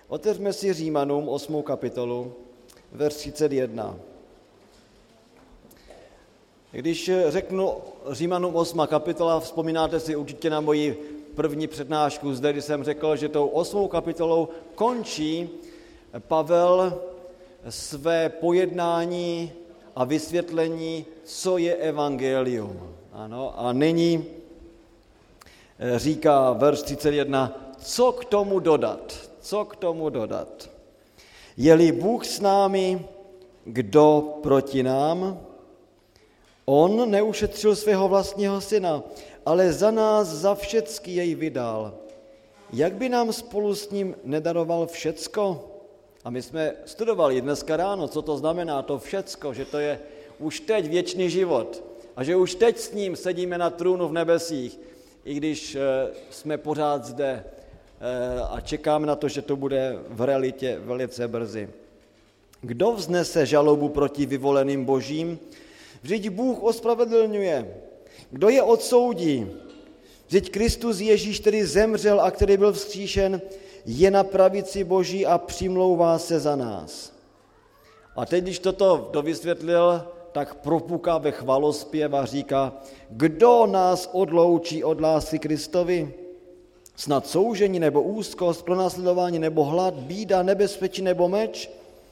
Otevřme si Římanům 8. kapitolu, verš 31. Když řeknu Římanům 8. kapitola, vzpomínáte si určitě na moji první přednášku zde, kdy jsem řekl, že tou 8. kapitolou končí Pavel své pojednání a vysvětlení, co je evangelium. Ano, a nyní říká verš 31, co k tomu dodat? Co k tomu dodat? Je-li Bůh s námi, kdo proti nám? On neušetřil svého vlastního syna, ale za nás za všecky jej vydal. Jak by nám spolu s ním nedaroval všecko? A my jsme studovali dneska ráno, co to znamená to všecko, že to je už teď věčný život a že už teď s ním sedíme na trůnu v nebesích, i když jsme pořád zde a čekáme na to, že to bude v realitě velice brzy. Kdo vznese žalobu proti vyvoleným božím? Vždyť Bůh ospravedlňuje. Kdo je odsoudí? Vždyť Kristus Ježíš, který zemřel a který byl vzkříšen, je na pravici Boží a přimlouvá se za nás. A teď, když toto dovysvětlil, tak propuká ve chvalospěv a říká, kdo nás odloučí od lásky Kristovi? Snad soužení nebo úzkost, pronásledování nebo hlad, bída, nebezpečí nebo meč?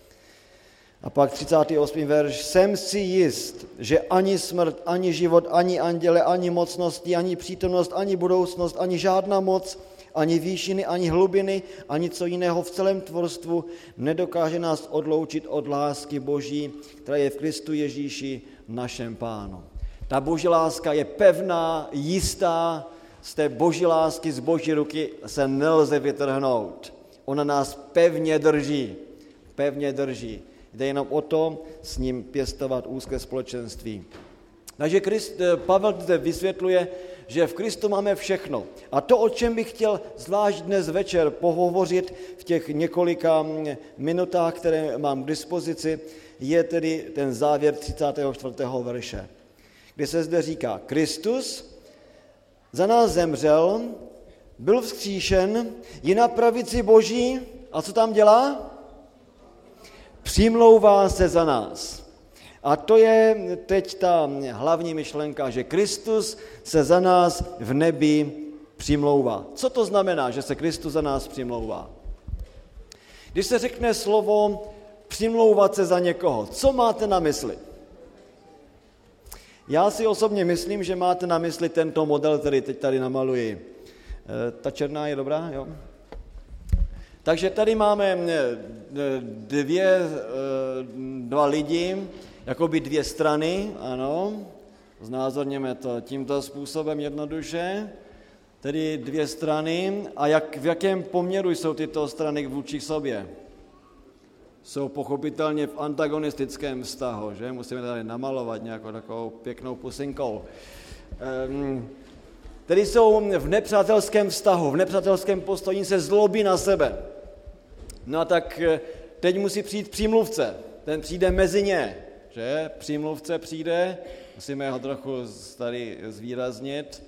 A pak 38. verš. Jsem si jist, že ani smrt, ani život, ani anděle, ani mocnosti, ani přítomnost, ani budoucnost, ani žádná moc, ani výšiny, ani hlubiny, ani co jiného v celém tvorstvu nedokáže nás odloučit od lásky Boží, která je v Kristu Ježíši, našem Pánu. Ta Boží láska je pevná, jistá, z té Boží lásky, z Boží ruky se nelze vytrhnout. Ona nás pevně drží, pevně drží. Jde jenom o to s ním pěstovat úzké společenství. Takže Pavel zde vysvětluje, že v Kristu máme všechno. A to, o čem bych chtěl zvlášť dnes večer pohovořit v těch několika minutách, které mám k dispozici, je tedy ten závěr 34. verše, kde se zde říká, Kristus za nás zemřel, byl vzkříšen, je na pravici Boží a co tam dělá? Přimlouvá se za nás. A to je teď ta hlavní myšlenka, že Kristus se za nás v nebi přimlouvá. Co to znamená, že se Kristus za nás přimlouvá? Když se řekne slovo přimlouvat se za někoho, co máte na mysli? Já si osobně myslím, že máte na mysli tento model, který teď tady namaluji. Ta černá je dobrá, jo? Takže tady máme dva lidi, jakoby dvě strany, ano, znázorněme to tímto způsobem jednoduše, tedy dvě strany a v jakém poměru jsou tyto strany vůči sobě? Jsou pochopitelně v antagonistickém vztahu, že? Musíme tady namalovat nějakou takovou pěknou pusinkou. Tedy jsou v nepřátelském vztahu, v nepřátelském postoji se zlobí na sebe. No a tak teď musí přijít přímluvce, ten přijde mezi ně, že? Přímluvce přijde, musíme ho trochu tady zvýraznit.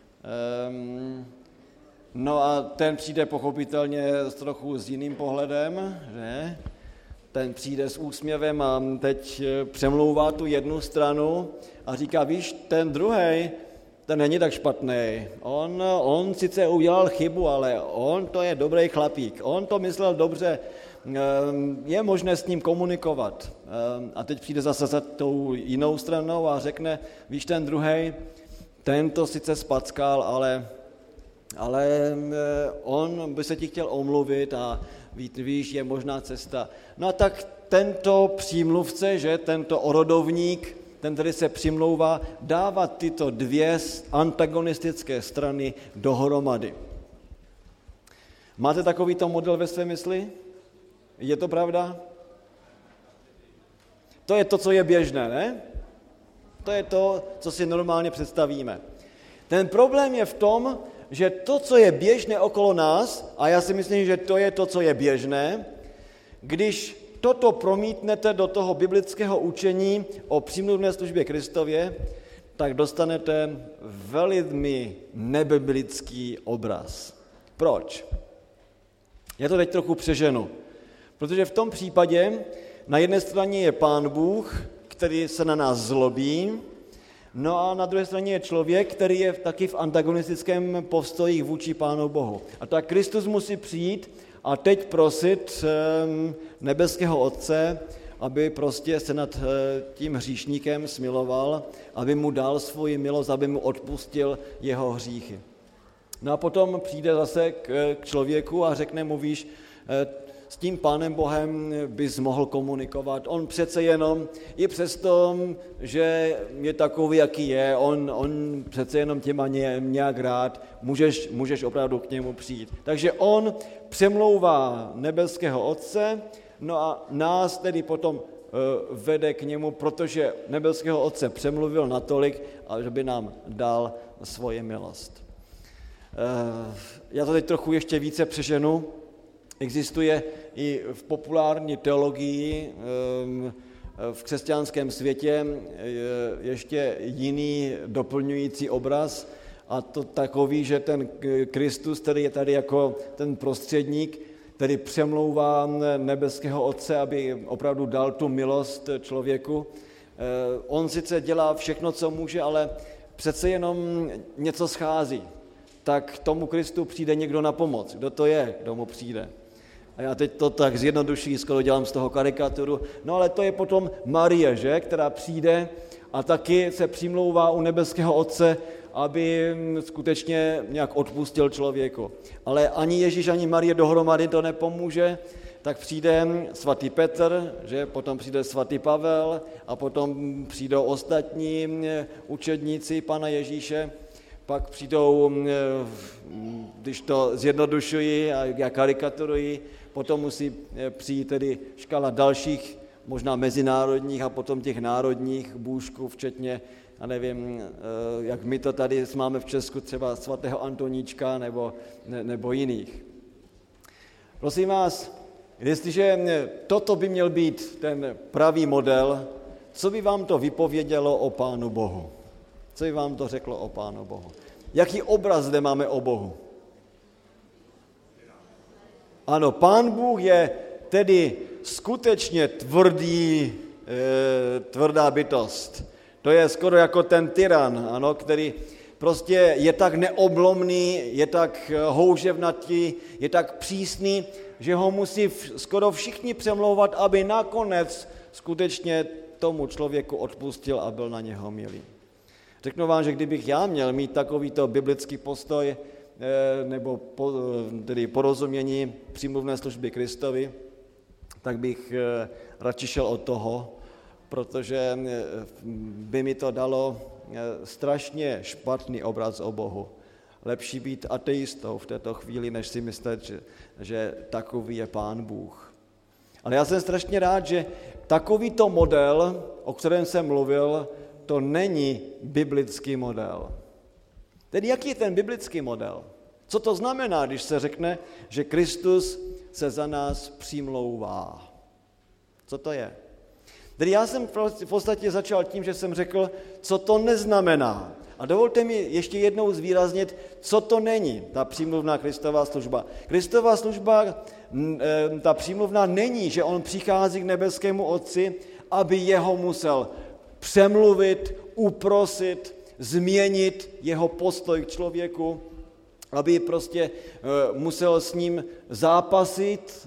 No a ten přijde pochopitelně trochu s jiným pohledem, že? Ten přijde s úsměvem a teď přemlouvá tu jednu stranu a říká, víš, ten druhej, ten není tak špatný. On sice udělal chybu, ale on to je dobrý chlapík. On to myslel dobře, je možné s ním komunikovat. A teď přijde zase za tou jinou stranou a řekne, víš, ten druhej, ten to sice spackal, ale on by se ti chtěl omluvit a víš, je možná cesta. No a tak tento přímluvce, že tento orodovník, ten, který se přimlouvá, dává tyto dvě antagonistické strany dohromady. Máte takovýto model ve své mysli? Je to pravda? To je to, co je běžné, ne? To je to, co si normálně představíme. Ten problém je v tom, že to, co je běžné okolo nás, a já si myslím, že to je to, co je běžné, když toto promítnete do toho biblického učení o přímluvné službě Kristově, tak dostanete velmi nebiblický obraz. Proč? Já to teď trochu přeženu, protože v tom případě na jedné straně je Pán Bůh, který se na nás zlobí, no a na druhé straně je člověk, který je taky v antagonistickém postoji vůči Pánu Bohu. A tak Kristus musí přijít a teď prosit nebeského Otce, aby prostě se nad tím hříšníkem smiloval, aby mu dal svoji milost, aby mu odpustil jeho hříchy. No a potom přijde zase k člověku a řekne mu, víš, s tím Pánem Bohem bys mohl komunikovat. On přece jenom, i přesto, že je takový, jaký je, on přece jenom tě má nějak rád, můžeš opravdu k němu přijít. Takže on přemlouvá nebeského Otce, no a nás tedy potom vede k němu, protože nebeského Otce přemluvil natolik, že by nám dal svoji milost. Já to teď trochu ještě více přeženu. Existuje i v populární teologii v křesťanském světě ještě jiný doplňující obraz, a to takový, že ten Kristus, který je tady jako ten prostředník, který přemlouvá nebeského Otce, aby opravdu dal tu milost člověku. On sice dělá všechno, co může, ale přece jenom něco schází. Tak tomu Kristu přijde někdo na pomoc. Kdo to je, kdo mu přijde? A já teď to tak zjednodušuji, skoro dělám z toho karikaturu. No ale to je potom Marie, že? Která přijde a taky se přimlouvá u nebeského Otce, aby skutečně nějak odpustil člověku. Ale ani Ježíš, ani Marie dohromady to nepomůže, tak přijde svatý Petr, že? Potom přijde svatý Pavel a potom přijdou ostatní učedníci Pana Ježíše. Pak přijdou, když to zjednodušuji a já karikaturuji, potom musí přijít tedy škála dalších, možná mezinárodních a potom těch národních bůžků, včetně, já nevím, jak my to tady máme v Česku, třeba svatého Antoníčka nebo jiných. Prosím vás, jestliže toto by měl být ten pravý model, co by vám to vypovědělo o Pánu Bohu? Co by vám to řeklo o Pánu Bohu? Jaký obraz zde máme o Bohu? Ano, Pán Bůh je tedy skutečně tvrdá bytost. To je skoro jako ten tyran, ano, který prostě je tak neoblomný, je tak houževnatý, je tak přísný, že ho musí skoro všichni přemlouvat, aby nakonec skutečně tomu člověku odpustil a byl na něho milý. Řeknu vám, že kdybych já měl mít takovýto biblický postoj nebo tedy porozumění přímluvné služby Kristovi, tak bych radši šel od toho, protože by mi to dalo strašně špatný obraz o Bohu. Lepší být ateistou v této chvíli, než si myslet, že takový je Pán Bůh. Ale já jsem strašně rád, že takovýto model, o kterém jsem mluvil, to není biblický model. Tedy jaký je ten biblický model? Co to znamená, když se řekne, že Kristus se za nás přimlouvá? Co to je? Tedy já jsem v podstatě začal tím, že jsem řekl, co to neznamená. A dovolte mi ještě jednou zvýraznit, co to není, ta přímluvná Kristova služba. Kristova služba, ta přímluvná není, že on přichází k nebeskému Otci, aby jeho musel přemluvit, uprosit, změnit jeho postoj k člověku, aby prostě musel s ním zápasit,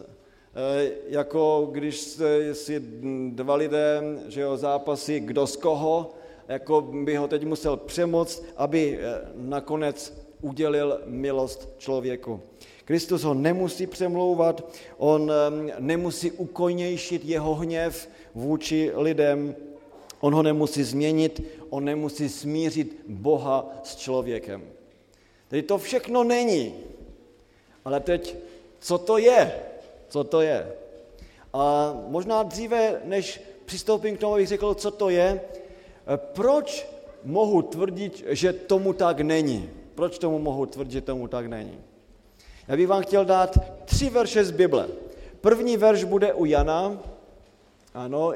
jako když si dva lidé, že jo, zápasí kdo z koho, jako by ho teď musel přemoct, aby nakonec udělil milost člověku. Kristus ho nemusí přemlouvat, on nemusí ukojnějšit jeho hněv vůči lidem, on ho nemusí změnit, on nemusí smířit Boha s člověkem. Tedy to všechno není. Ale teď, co to je? Co to je? A možná dříve, než přistoupím k tomu, abych řekl, co to je, proč mohu tvrdit, že tomu tak není? Proč tomu mohu tvrdit, že tomu tak není? Já bych vám chtěl dát 3 verše z Bible. První verš bude u Jana, ano,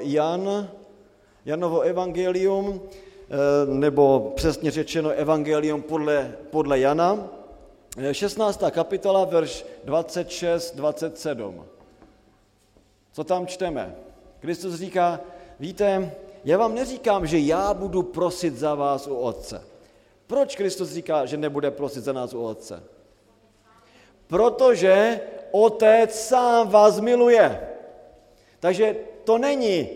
Janovo evangelium, nebo přesně řečeno evangelium podle Jana. 16. kapitola, verš 26-27. Co tam čteme? Kristus říká, víte, já vám neříkám, že já budu prosit za vás u Otce. Proč Kristus říká, že nebude prosit za nás u Otce? Protože Otec sám vás miluje. Takže to není,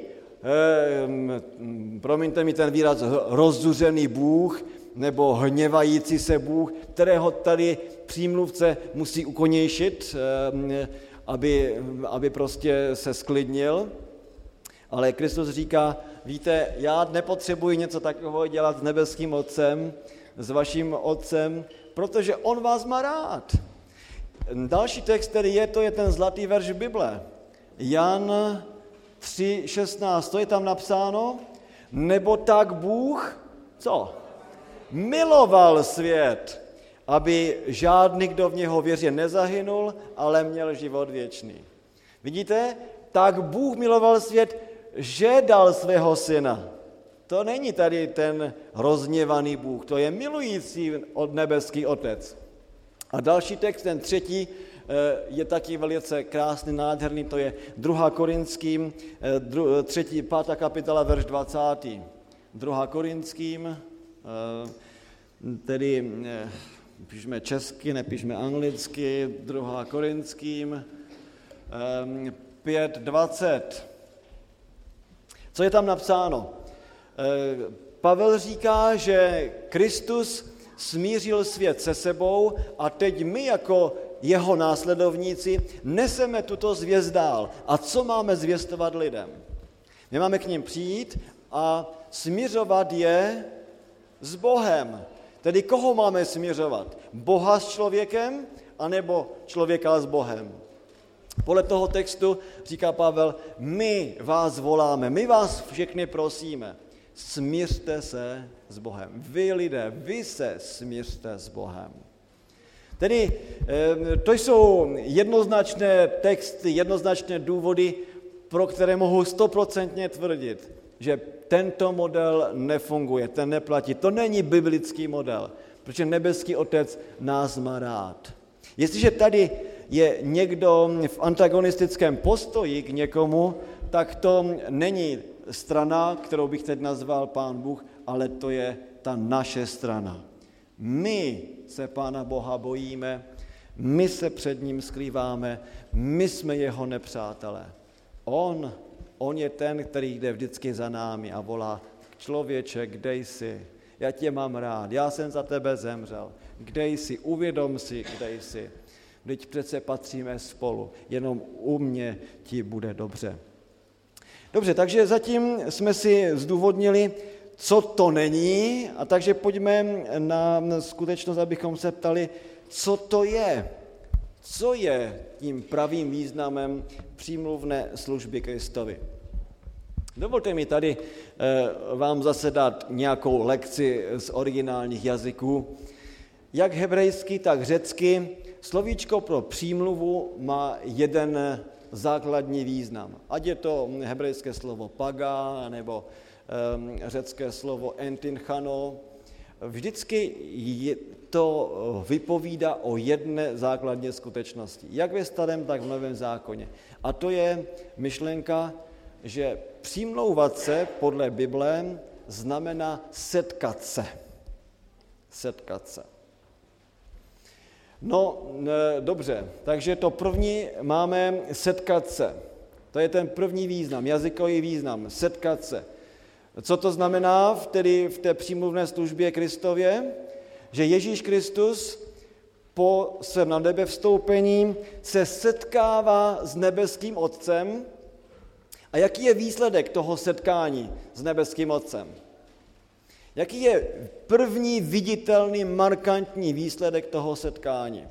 promiňte mi ten výraz, rozzuřený Bůh nebo hněvající se Bůh, kterého tady přímluvce musí ukonějšit, aby prostě se sklidnil. Ale Kristus říká, víte, já nepotřebuji něco takového dělat s nebeským Otcem, s vaším Otcem, protože on vás má rád. Další text, který je, to je ten zlatý verš Bible. Jan 3:16, to je tam napsáno, nebo tak Bůh, co? Miloval svět, aby žádný, kdo v něho věří, nezahynul, ale měl život věčný. Vidíte? Tak Bůh miloval svět, že dal svého syna. To není tady ten rozhněvaný Bůh, to je milující nebeský Otec. A další text, ten třetí, je taky velice krásný, nádherný, to je 2. Korinským, 5. kapitola, verš 20. 2. Korinským, tedy píšme česky, nepíšme anglicky, 2. Korinským, 5:20. Co je tam napsáno? Pavel říká, že Kristus smířil svět se sebou a teď my jako jeho následovníci neseme tuto zvěst dál. A co máme zvěstovat lidem? My máme k nim přijít a smiřovat je s Bohem. Tedy koho máme smiřovat? Boha s člověkem, anebo člověka s Bohem? Podle toho textu říká Pavel, my vás voláme, my vás všechny prosíme, smířte se s Bohem. Vy lidé, vy se smířte s Bohem. Tedy to jsou jednoznačné texty, jednoznačné důvody, pro které mohu 100% tvrdit, že tento model nefunguje, ten neplatí. To není biblický model, protože nebeský Otec nás má rád. Jestliže tady je někdo v antagonistickém postoji k někomu, tak to není strana, kterou bych teď nazval Pán Bůh, ale to je ta naše strana. My se Pána Boha bojíme, my se před ním skrýváme, my jsme jeho nepřátelé. On je ten, který jde vždycky za námi a volá, člověče, kde jsi? Já tě mám rád, já jsem za tebe zemřel. Kde jsi? Uvědom si, kde jsi. Vždyť přece patříme spolu, jenom u mě ti bude dobře. Dobře, takže zatím jsme si zdůvodnili, co to není, a takže pojďme na skutečnost, abychom se ptali, co to je. Co je tím pravým významem přímluvné služby Kristovi? Dovolte mi tady vám zase dát nějakou lekci z originálních jazyků. Jak hebrejsky, tak řecky slovíčko pro přímluvu má jeden základní význam. Ať je to hebrejské slovo paga, nebo řecké slovo entinchano, vždycky to vypovídá o jedné základní skutečnosti. Jak ve Starém, tak v Novém zákoně. A to je myšlenka, že přimlouvat se podle Bible znamená setkat se. Setkat se. No, dobře, takže to první máme setkat se. To je ten první význam, jazykový význam, setkat se. Co to znamená v té přímluvné službě Kristově? Že Ježíš Kristus po svém na nebe vstoupení se setkává s nebeským Otcem. A jaký je výsledek toho setkání s nebeským Otcem? Jaký je první viditelný, markantní výsledek toho setkání?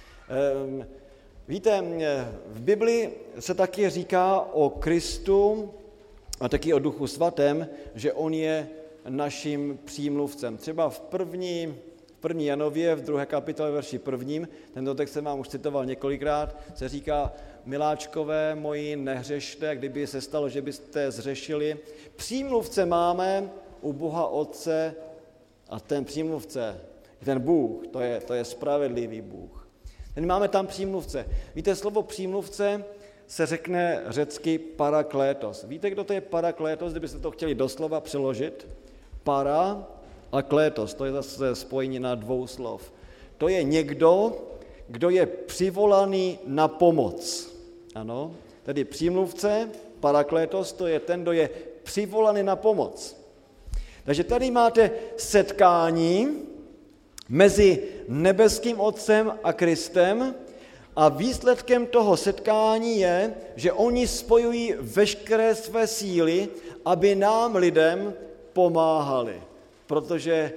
Víte, v Bibli se taky říká o Kristu a taky o Duchu Svatém, že on je naším přímluvcem. Třeba v 1. Janově, v 2. kapitole verši 1., tento text jsem vám už citoval několikrát, se říká, miláčkové moji, nehřešte, kdyby se stalo, že byste zřešili. Přímluvce máme u Boha Otce a ten přímluvce Ten Bůh, to je spravedlivý Bůh. Teď máme tam přímluvce. Víte, slovo přímluvce se řekne řecky paraklétos. Víte, kdo to je paraklétos, kdybyste to chtěli doslova přeložit? Para a klétos, to je zase spojení na dvou slov. To je někdo, kdo je přivolaný na pomoc. Ano, tedy přímluvce, paraklétos, to je ten, kdo je přivolaný na pomoc. Takže tady máte setkání mezi nebeským Otcem a Kristem a výsledkem toho setkání je, že oni spojují veškeré své síly, aby nám lidem pomáhali. Protože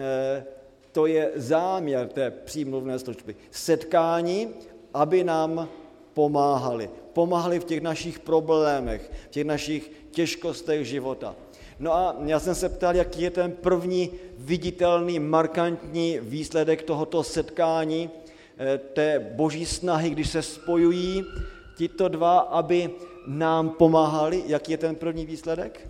to je záměr té přímluvné služby. Setkání, aby nám pomáhali. Pomáhali v těch našich problémech, v těch našich těžkostech života. No a já jsem se ptal, jaký je ten první viditelný, markantní výsledek tohoto setkání, té boží snahy, když se spojují tito dva, aby nám pomáhali. Jaký je ten první výsledek?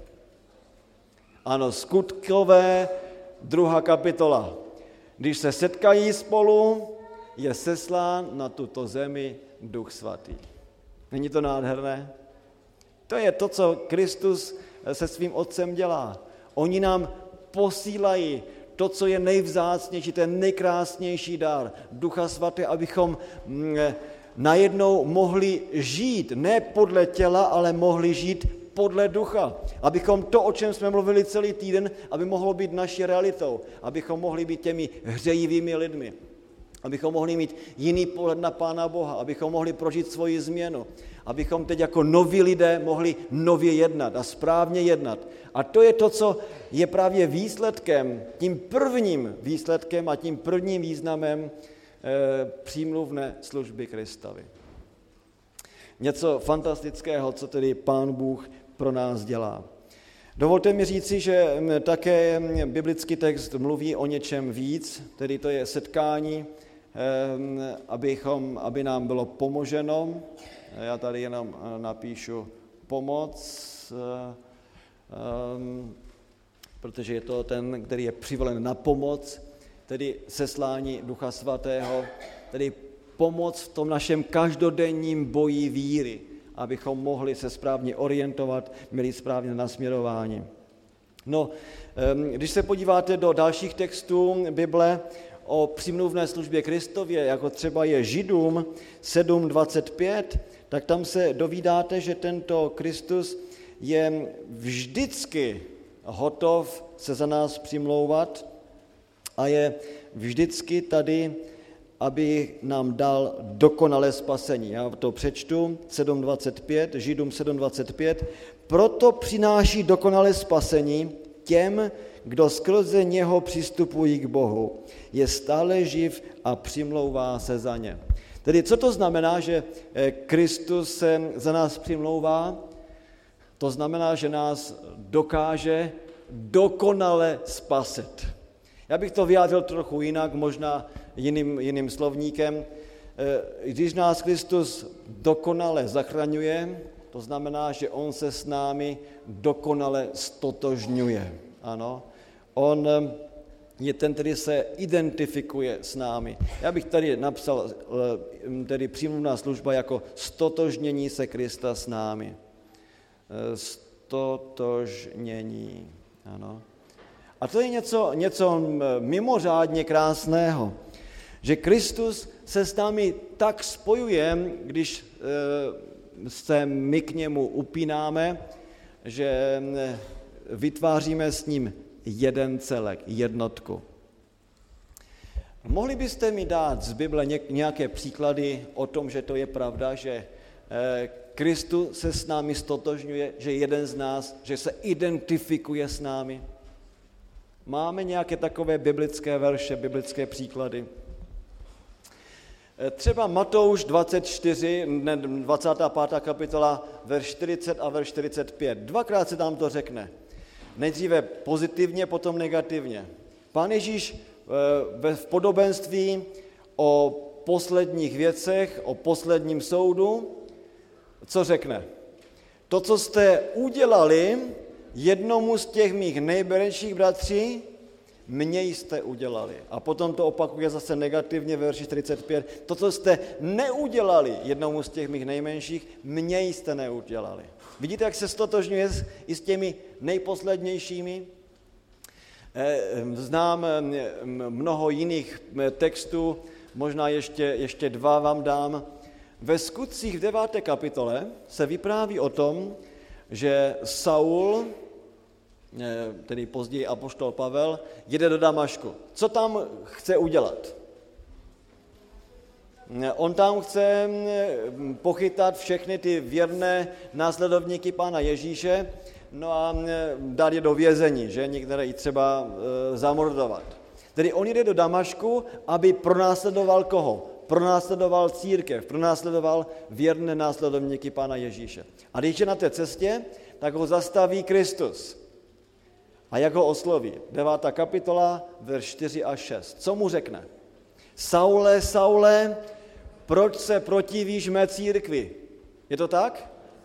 Ano, Skutkové 2. kapitola. Když se setkají spolu, je seslán na tuto zemi Duch Svatý. Není to nádherné? To je to, co Kristus se svým Otcem dělá. Oni nám posílají to, co je nejvzácnější, ten nejkrásnější dar Ducha Svaté, abychom najednou mohli žít, ne podle těla, ale mohli žít podle ducha. Abychom to, o čem jsme mluvili celý týden, aby mohlo být naší realitou. Abychom mohli být těmi hřejivými lidmi. Abychom mohli mít jiný pohled na Pána Boha. Abychom mohli prožít svoji změnu. Abychom teď jako noví lidé mohli nově jednat a správně jednat. A to je to, co je právě výsledkem, tím prvním výsledkem a tím prvním významem přímluvné služby Kristovi. Něco fantastického, co tedy Pán Bůh pro nás dělá. Dovolte mi říci, že také biblický text mluví o něčem víc, tedy to je setkání, aby nám bylo pomoženo. Já tady jenom napíšu pomoc, protože je to ten, který je přivolen na pomoc, tedy seslání Ducha Svatého, tedy pomoc v tom našem každodenním boji víry, abychom mohli se správně orientovat, měli správně nasměrování. No, když se podíváte do dalších textů Bible o přímluvné službě Kristově, jako třeba je Židům 7.25, tak tam se dovídáte, že tento Kristus je vždycky hotov se za nás přimlouvat a je vždycky tady, aby nám dal dokonalé spasení. Já to přečtu, 7.25, Židům 7.25. Proto přináší dokonalé spasení těm, kdo skrze něho přistupují k Bohu. Je stále živ a přimlouvá se za ně. Tedy co to znamená, že Kristus se za nás přimlouvá? To znamená, že nás dokáže dokonale spasit. Já bych to vyjádřil trochu jinak, možná jiným slovníkem. Když nás Kristus dokonale zachraňuje, to znamená, že on se s námi dokonale stotožňuje. Ano, on je ten, který se identifikuje s námi. Já bych tady napsal tedy přímluvná služba jako stotožnění se Krista s námi. Stotožnění, ano. A to je něco mimořádně krásného, že Kristus se s námi tak spojuje, když se my k němu upínáme, že vytváříme s ním jeden celek, jednotku. Mohli byste mi dát z Bible nějaké příklady o tom, že to je pravda, že Kristus se s námi stotožňuje, že jeden z nás, že se identifikuje s námi? Máme nějaké takové biblické verše, biblické příklady? Třeba Matouš 24, 25. kapitola, verš 40 a verš 45. Dvakrát se tam to řekne. Nejdříve pozitivně, potom negativně. Pán Ježíš v podobenství o posledních věcech, o posledním soudu, co řekne? To, co jste udělali jednomu z těch mých nejmenších bratří, mně jste udělali. A potom to opakuje zase negativně ve verši 45. To, co jste neudělali jednomu z těch mých nejmenších, mně jste neudělali. Vidíte, jak se stotožňuje i s těmi nejposlednějšími? Znám mnoho jiných textů, možná ještě dva vám dám. Ve Skutcích v 9. kapitole se vypráví o tom, že Saul, tedy později apoštol Pavel, jede do Damašku. Co tam chce udělat? On tam chce pochytat všechny ty věrné následovníky Pána Ježíše, no a dát je do vězení, že některé i třeba zamordovat. Tedy on jde do Damašku, aby pronásledoval koho? Pronásledoval církev, pronásledoval věrné následovníky Pána Ježíše. A když je na té cestě, tak ho zastaví Kristus. A jak ho osloví? 9. kapitola, verš 4 až 6. Co mu řekne? Saule, Saule, proč se protivíš mé církvi? Je to tak?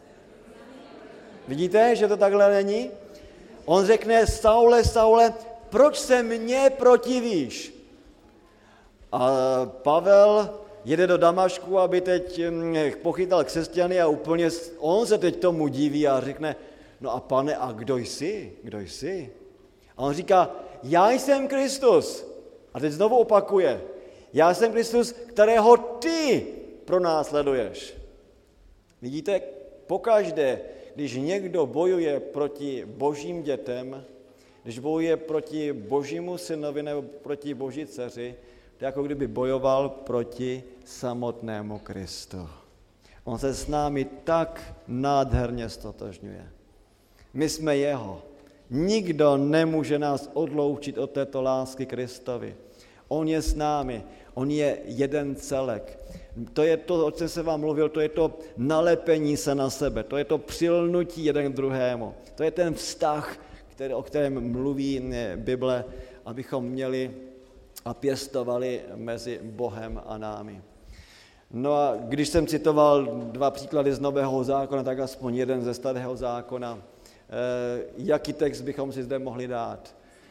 Vidíte, že to takhle není? On řekne, Saule, Saule, proč se mně protivíš? A Pavel jede do Damašku, aby teď pochytal křesťany a úplně on se teď tomu diví a řekne, no a pane, a kdo jsi? Kdo jsi? A on říká, já jsem Kristus. A teď znovu opakuje, já jsem Kristus, kterého ty pronásleduješ. Vidíte, pokaždé, když někdo bojuje proti božím dětem, když bojuje proti božímu synovi nebo proti boží dceři, to je jako kdyby bojoval proti samotnému Kristu. On se s námi tak nádherně stotožňuje. My jsme jeho. Nikdo nemůže nás odloučit od této lásky Kristovi. On je s námi, on je jeden celek. To je to, o čem jsem vám mluvil, to je to nalepení se na sebe, to je to přilnutí jeden k druhému. To je ten vztah, o kterém mluví Bible, abychom měli a pěstovali mezi Bohem a námi. No a když jsem citoval 2 příklady z Nového zákona, tak aspoň jeden ze Starého zákona. Jaký text bychom si zde mohli dát?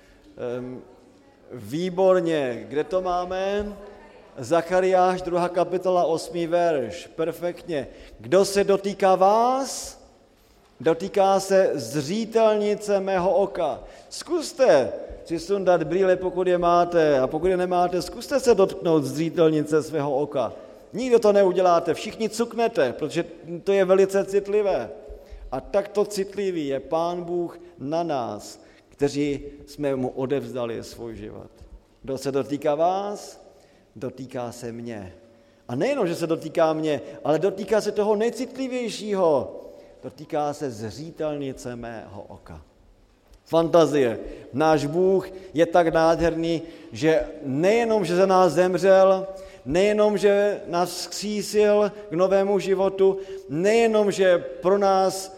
Výborně, kde to máme? Zachariáš, 2. kapitola, 8. verš. Perfektně. Kdo se dotýká vás? Dotýká se zřítelnice mého oka. Zkuste si sundat brýle, pokud je máte, a pokud je nemáte, zkuste se dotknout zřítelnice svého oka. Nikdo to neuděláte, všichni cuknete, protože to je velice citlivé. A takto citlivý je Pán Bůh na nás, kteří jsme mu odevzdali svůj život. Kdo se dotýká vás, dotýká se mě. A nejenom, že se dotýká mě, ale dotýká se toho nejcitlivějšího. Dotýká se zřítelnice mého oka. Fantazie. Náš Bůh je tak nádherný, že nejenom, že za nás zemřel, nejenom, že nás vzkřísil k novému životu, nejenom, že pro nás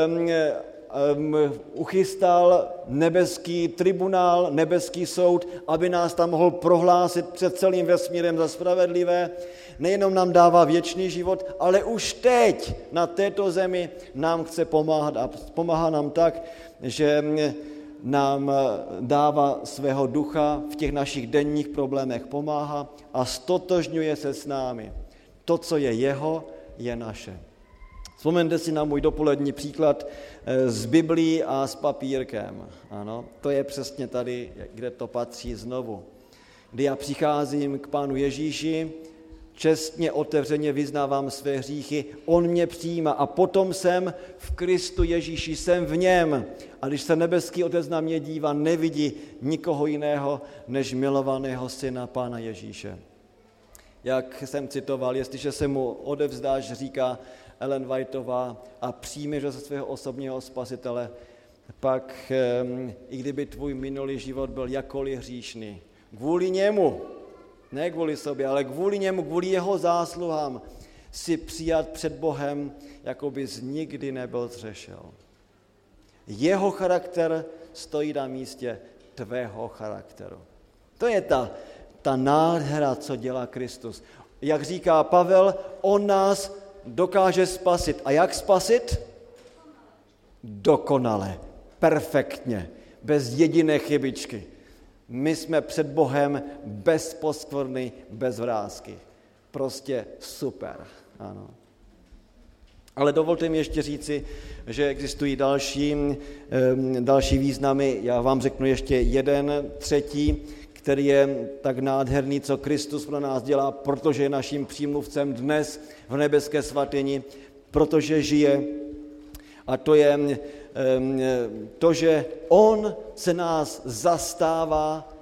uchystal nebeský tribunál, nebeský soud, aby nás tam mohl prohlásit před celým vesmírem za spravedlivé, nejenom nám dává věčný život, ale už teď na této zemi nám chce pomáhat a pomáhá nám tak, že nám dává svého ducha v těch našich denních problémech pomáhá a stotožňuje se s námi. To, co je jeho, je naše. Vzpomeňte si na můj dopolední příklad s Biblií a s papírkem. Ano, to je přesně tady, kde to patří znovu. Kdy já přicházím k Pánu Ježíši, čestně, otevřeně vyznávám své hříchy, on mě přijímá a potom jsem v Kristu Ježíši, jsem v něm. A když se nebeský Otec na mě dívá, nevidí nikoho jiného, než milovaného syna Pána Ježíše. Jak jsem citoval, jestliže se mu odevzdáš, říká Ellen Whiteová, a přijmeš ho za svého osobního spasitele, pak i kdyby tvůj minulý život byl jakkoliv hříšný, kvůli němu, ne kvůli sobě, ale kvůli němu, kvůli jeho zásluhám, si přijat před Bohem, jako bys nikdy nebyl zřešil. Jeho charakter stojí na místě tvého charakteru. To je ta nádhera, co dělá Kristus. Jak říká Pavel, on nás dokáže spasit. A jak spasit? Dokonale, perfektně, bez jediné chybičky. My jsme před Bohem bez poskvrny, bez vrásky. Prostě super. Ano. Ale dovolte mi ještě říci, že existují další významy. Já vám řeknu ještě jeden, třetí, který je tak nádherný, co Kristus pro nás dělá, protože je naším přímluvcem dnes v nebeské svatyni, protože žije. A to je to, že on se nás zastává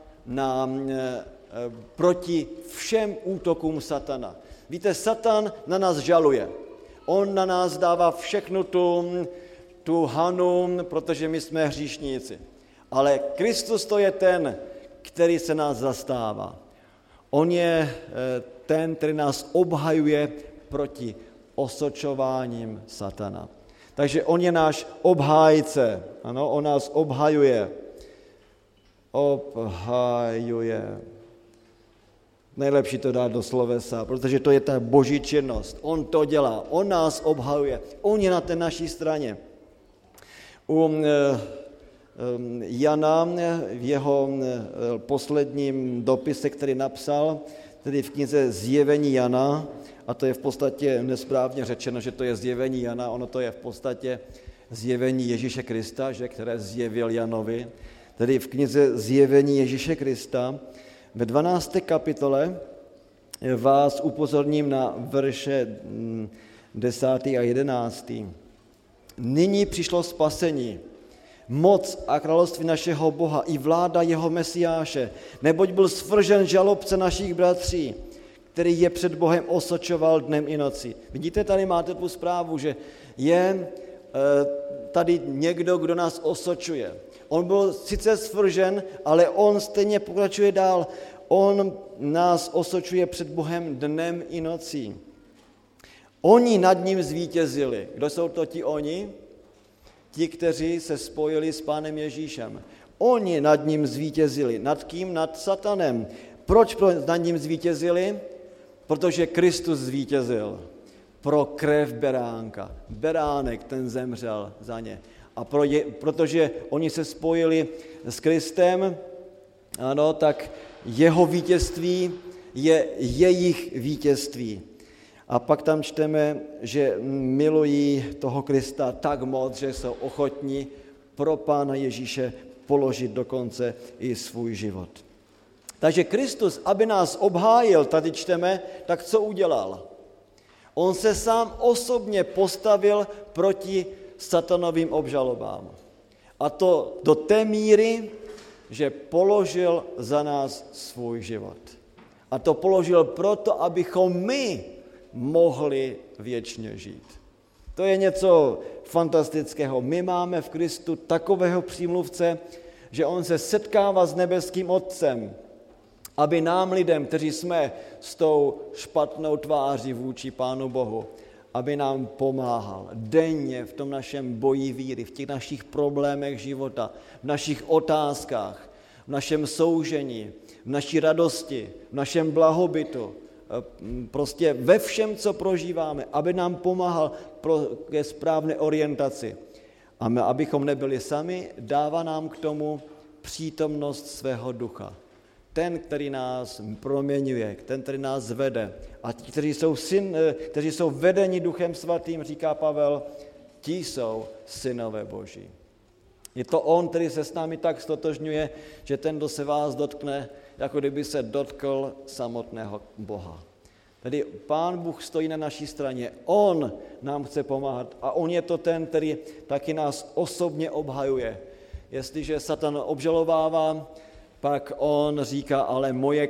proti všem útokům satana. Víte, satan na nás žaluje. On na nás dává všechnu tu hanu, protože my jsme hříšníci. Ale Kristus to je ten, který se nás zastává. On je ten, který nás obhajuje proti osočováním satana. Takže on je náš obhájce. Ano, on nás obhajuje. Obhajuje. Nejlepší to dát do slovesa, protože to je ta boží činnost. On to dělá, on nás obhajuje, on je na té naší straně. U Jana v jeho posledním dopise, který napsal, tedy v knize Zjevení Jana, a to je v podstatě nesprávně řečeno, že to je Zjevení Jana, ono to je v podstatě Zjevení Ježíše Krista, že, které zjevil Janovi, tedy v knize Zjevení Ježíše Krista. Ve 12. kapitole vás upozorním na verše 10. a 11. Nyní přišlo spasení, moc a království našeho Boha i vláda jeho Mesiáše, neboť byl svržen žalobce našich bratří, který je před Bohem osočoval dnem i nocí. Vidíte, tady máte tu zprávu, že je tady někdo, kdo nás osočuje. On byl sice svržen, ale on stejně pokračuje dál. On nás osočuje před Bohem dnem i nocí. Oni nad ním zvítězili. Kdo jsou to ti oni? Ti, kteří se spojili s Pánem Ježíšem. Oni nad ním zvítězili. Nad kým? Nad satanem. Proč nad ním zvítězili? Protože Kristus zvítězil pro krev beránka. Beránek, ten zemřel za ně. A protože oni se spojili s Kristem, ano, tak jeho vítězství je jejich vítězství. A pak tam čteme, že milují toho Krista tak moc, že jsou ochotní pro Pána Ježíše položit dokonce i svůj život. Takže Kristus, aby nás obhájil, tady čteme, tak co udělal? On se sám osobně postavil proti satanovým obžalobám. A to do té míry, že položil za nás svůj život. A to položil proto, abychom my mohli věčně žít. To je něco fantastického. My máme v Kristu takového přímluvce, že on se setkává s nebeským Otcem, aby nám lidem, kteří jsme s tou špatnou tváří vůči Pánu Bohu, aby nám pomáhal denně v tom našem boji víry, v těch našich problémech života, v našich otázkách, v našem soužení, v naší radosti, v našem blahobytu, prostě ve všem, co prožíváme, aby nám pomáhal ke správné orientaci. A my, abychom nebyli sami, dává nám k tomu přítomnost svého ducha. Ten, který nás proměňuje, ten, který nás vede. A ti, kteří jsou vedeni Duchem Svatým, říká Pavel, ti jsou synové Boží. Je to on, který se s námi tak stotožňuje, že ten, kdo se vás dotkne, jako kdyby se dotkl samotného Boha. Tedy Pán Bůh stojí na naší straně, on nám chce pomáhat a on je to ten, který taky nás osobně obhajuje. Jestliže Satan obžalovává, pak on říká, ale moje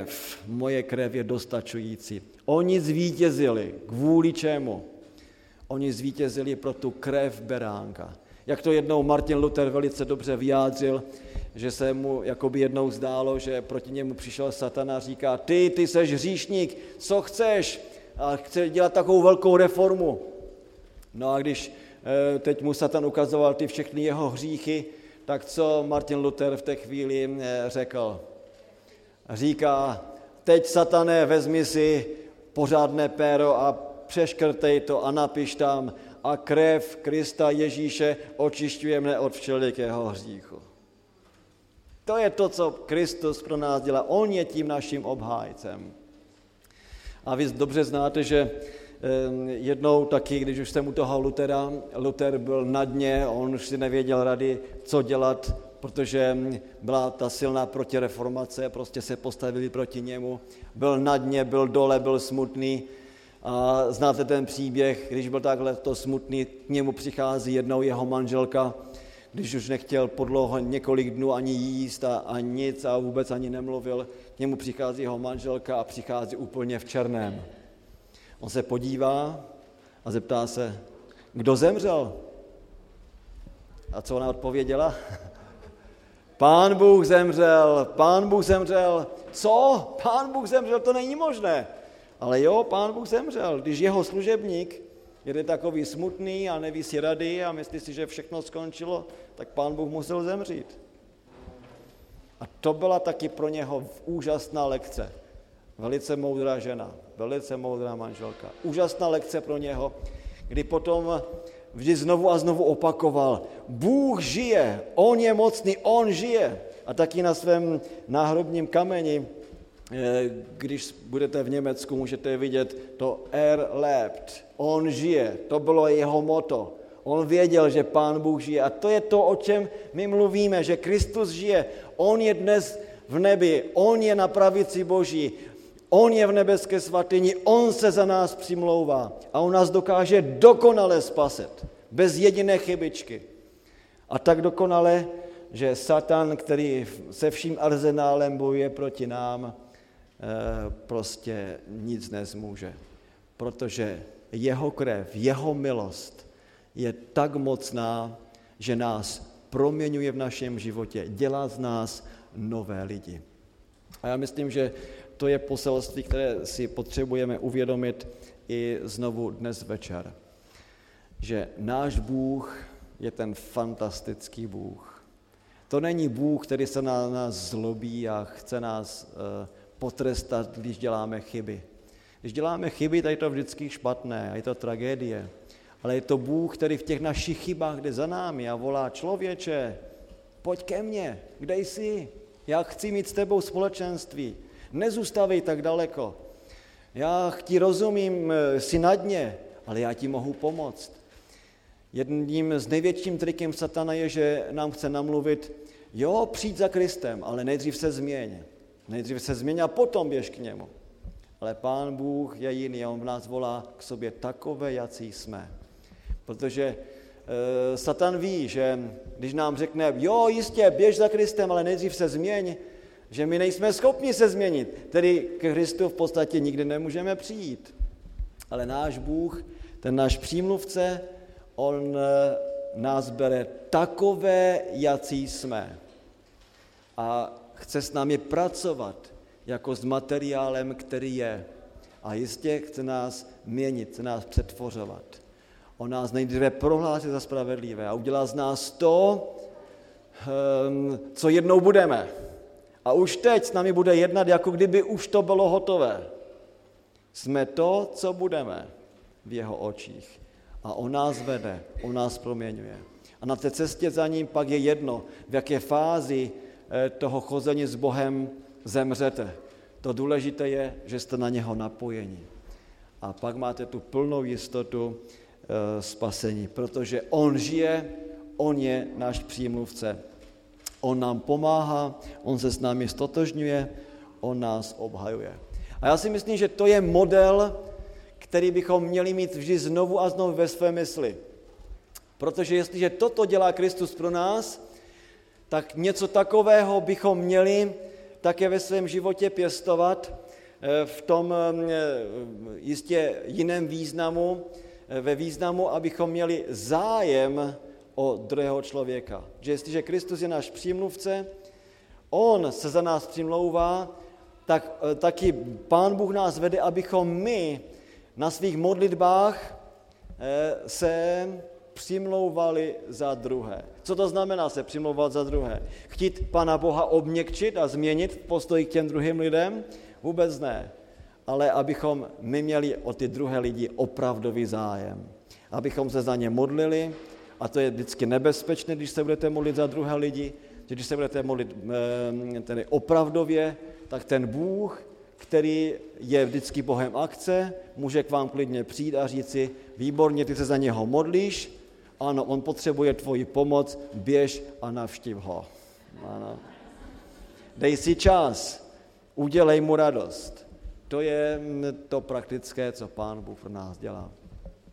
krev je dostačující. Oni zvítězili. Kvůli čemu? Oni zvítězili pro tu krev beránka. Jak to jednou Martin Luther velice dobře vyjádřil, že se mu jakoby jednou zdálo, že proti němu přišel Satan a říká, ty seš hříšník, co chceš? A chce dělat takovou velkou reformu. No a když teď mu Satan ukazoval ty všechny jeho hříchy, tak co Martin Luther v té chvíli řekl? Říká, teď, Satané, vezmi si pořádné péro a přeškrtej to a napiš tam a krev Krista Ježíše očišťuje mne od všelikého hříchu. To je to, co Kristus pro nás dělá. On je tím naším obhájcem. A vy dobře znáte, že jednou taky, když už jsem u toho Lutera, Luther byl na dně, on už si nevěděl rady, co dělat, protože byla ta silná protireformace, prostě se postavili proti němu. Byl na dně, byl dole, byl smutný. A znáte ten příběh, když byl takhle to smutný, k němu přichází jednou jeho manželka, když už nechtěl po dlouho několik dnů ani jíst a nic a vůbec ani nemluvil, k němu přichází jeho manželka a přichází úplně v černém. On se podívá a zeptá se, kdo zemřel? A co ona odpověděla? Pán Bůh zemřel, Pán Bůh zemřel. Co? Pán Bůh zemřel, to není možné. Ale jo, Pán Bůh zemřel. Když jeho služebník je takový smutný a neví si rady a myslí si, že všechno skončilo, tak Pán Bůh musel zemřít. A to byla taky pro něho úžasná lekce. Velice moudrá žena, velice moudrá manželka. Úžasná lekce pro něho, kdy potom vždy znovu a znovu opakoval, Bůh žije, on je mocný, on žije. A taky na svém náhrobním kameni, když budete v Německu, můžete vidět to lebt, on žije, to bylo jeho motto. On věděl, že Pán Bůh žije a to je to, o čem my mluvíme, že Kristus žije. On je dnes v nebi, on je na pravici Boží, on je v nebeské svatyni, on se za nás přimlouvá a on nás dokáže dokonale spasit, bez jediné chybičky. A tak dokonale, že Satan, který se vším arzenálem bojuje proti nám, prostě nic nezmůže, protože jeho krev, jeho milost je tak mocná, že nás proměňuje v našem životě, dělá z nás nové lidi. A já myslím, že to je poselství, které si potřebujeme uvědomit i znovu dnes večer. Že náš Bůh je ten fantastický Bůh. To není Bůh, který se na nás zlobí a chce nás potrestat, když děláme chyby. Když děláme chyby, tak je to vždycky špatné a je to tragédie. Ale je to Bůh, který v těch našich chybách jde za námi a volá, člověče, pojď ke mně, kde jsi? Já chci mít s tebou společenství. Nezůstavej tak daleko. Já ti rozumím, jsi na dně, ale já ti mohu pomoct. Jedním z největším trikem satana je, že nám chce namluvit, jo, přijď za Kristem, ale nejdřív se změň. Nejdřív se změň a potom běž k němu. Ale Pán Bůh je jiný, on v nás volá k sobě takové, jací jsme. Protože Satan ví, že když nám řekne, jo, jistě, běž za Kristem, ale nejdřív se změň, že my nejsme schopni se změnit, tedy ke Kristu v podstatě nikdy nemůžeme přijít. Ale náš Bůh, ten náš přímluvce, on nás bere takové, jací jsme. A chce s námi pracovat jako s materiálem, který je. A jistě chce nás měnit, chce nás přetvořovat. On nás nejdříve prohlásí za spravedlivé a udělá z nás to, co jednou budeme. A už teď s námi bude jednat, jako kdyby už to bylo hotové. Jsme to, co budeme v jeho očích. A on nás vede, on nás proměňuje. A na té cestě za ním pak je jedno, v jaké fázi toho chození s Bohem zemřete. To důležité je, že jste na něho napojeni. A pak máte tu plnou jistotu spasení, protože on žije, on je náš přímluvce. On nám pomáhá, on se s námi stotožňuje, on nás obhajuje. A já si myslím, že to je model, který bychom měli mít vždy znovu a znovu ve své mysli. Protože jestliže toto dělá Kristus pro nás, tak něco takového bychom měli také ve svém životě pěstovat v tom jistě jiném významu, ve významu, abychom měli zájem o druhého člověka. Že jestliže Kristus je náš přímluvce, on se za nás přimlouvá, tak taky Pán Bůh nás vede, abychom my na svých modlitbách se přimlouvali za druhé. Co to znamená se přimlouvat za druhé? Chtít Pana Boha obměkčit a změnit postoj k těm druhým lidem? Vůbec ne. Ale abychom my měli o ty druhé lidi opravdový zájem. Abychom se za ně modlili, a to je vždycky nebezpečné, když se budete modlit za druhé lidi, že když se budete modlit tedy opravdově, tak ten Bůh, který je vždycky Bohem akce, může k vám klidně přijít a říct si, výborně, ty se za něho modlíš, ano, on potřebuje tvoji pomoc, běž a navštiv ho. Ano. Dej si čas, udělej mu radost. To je to praktické, co Pán Bůh pro nás dělá.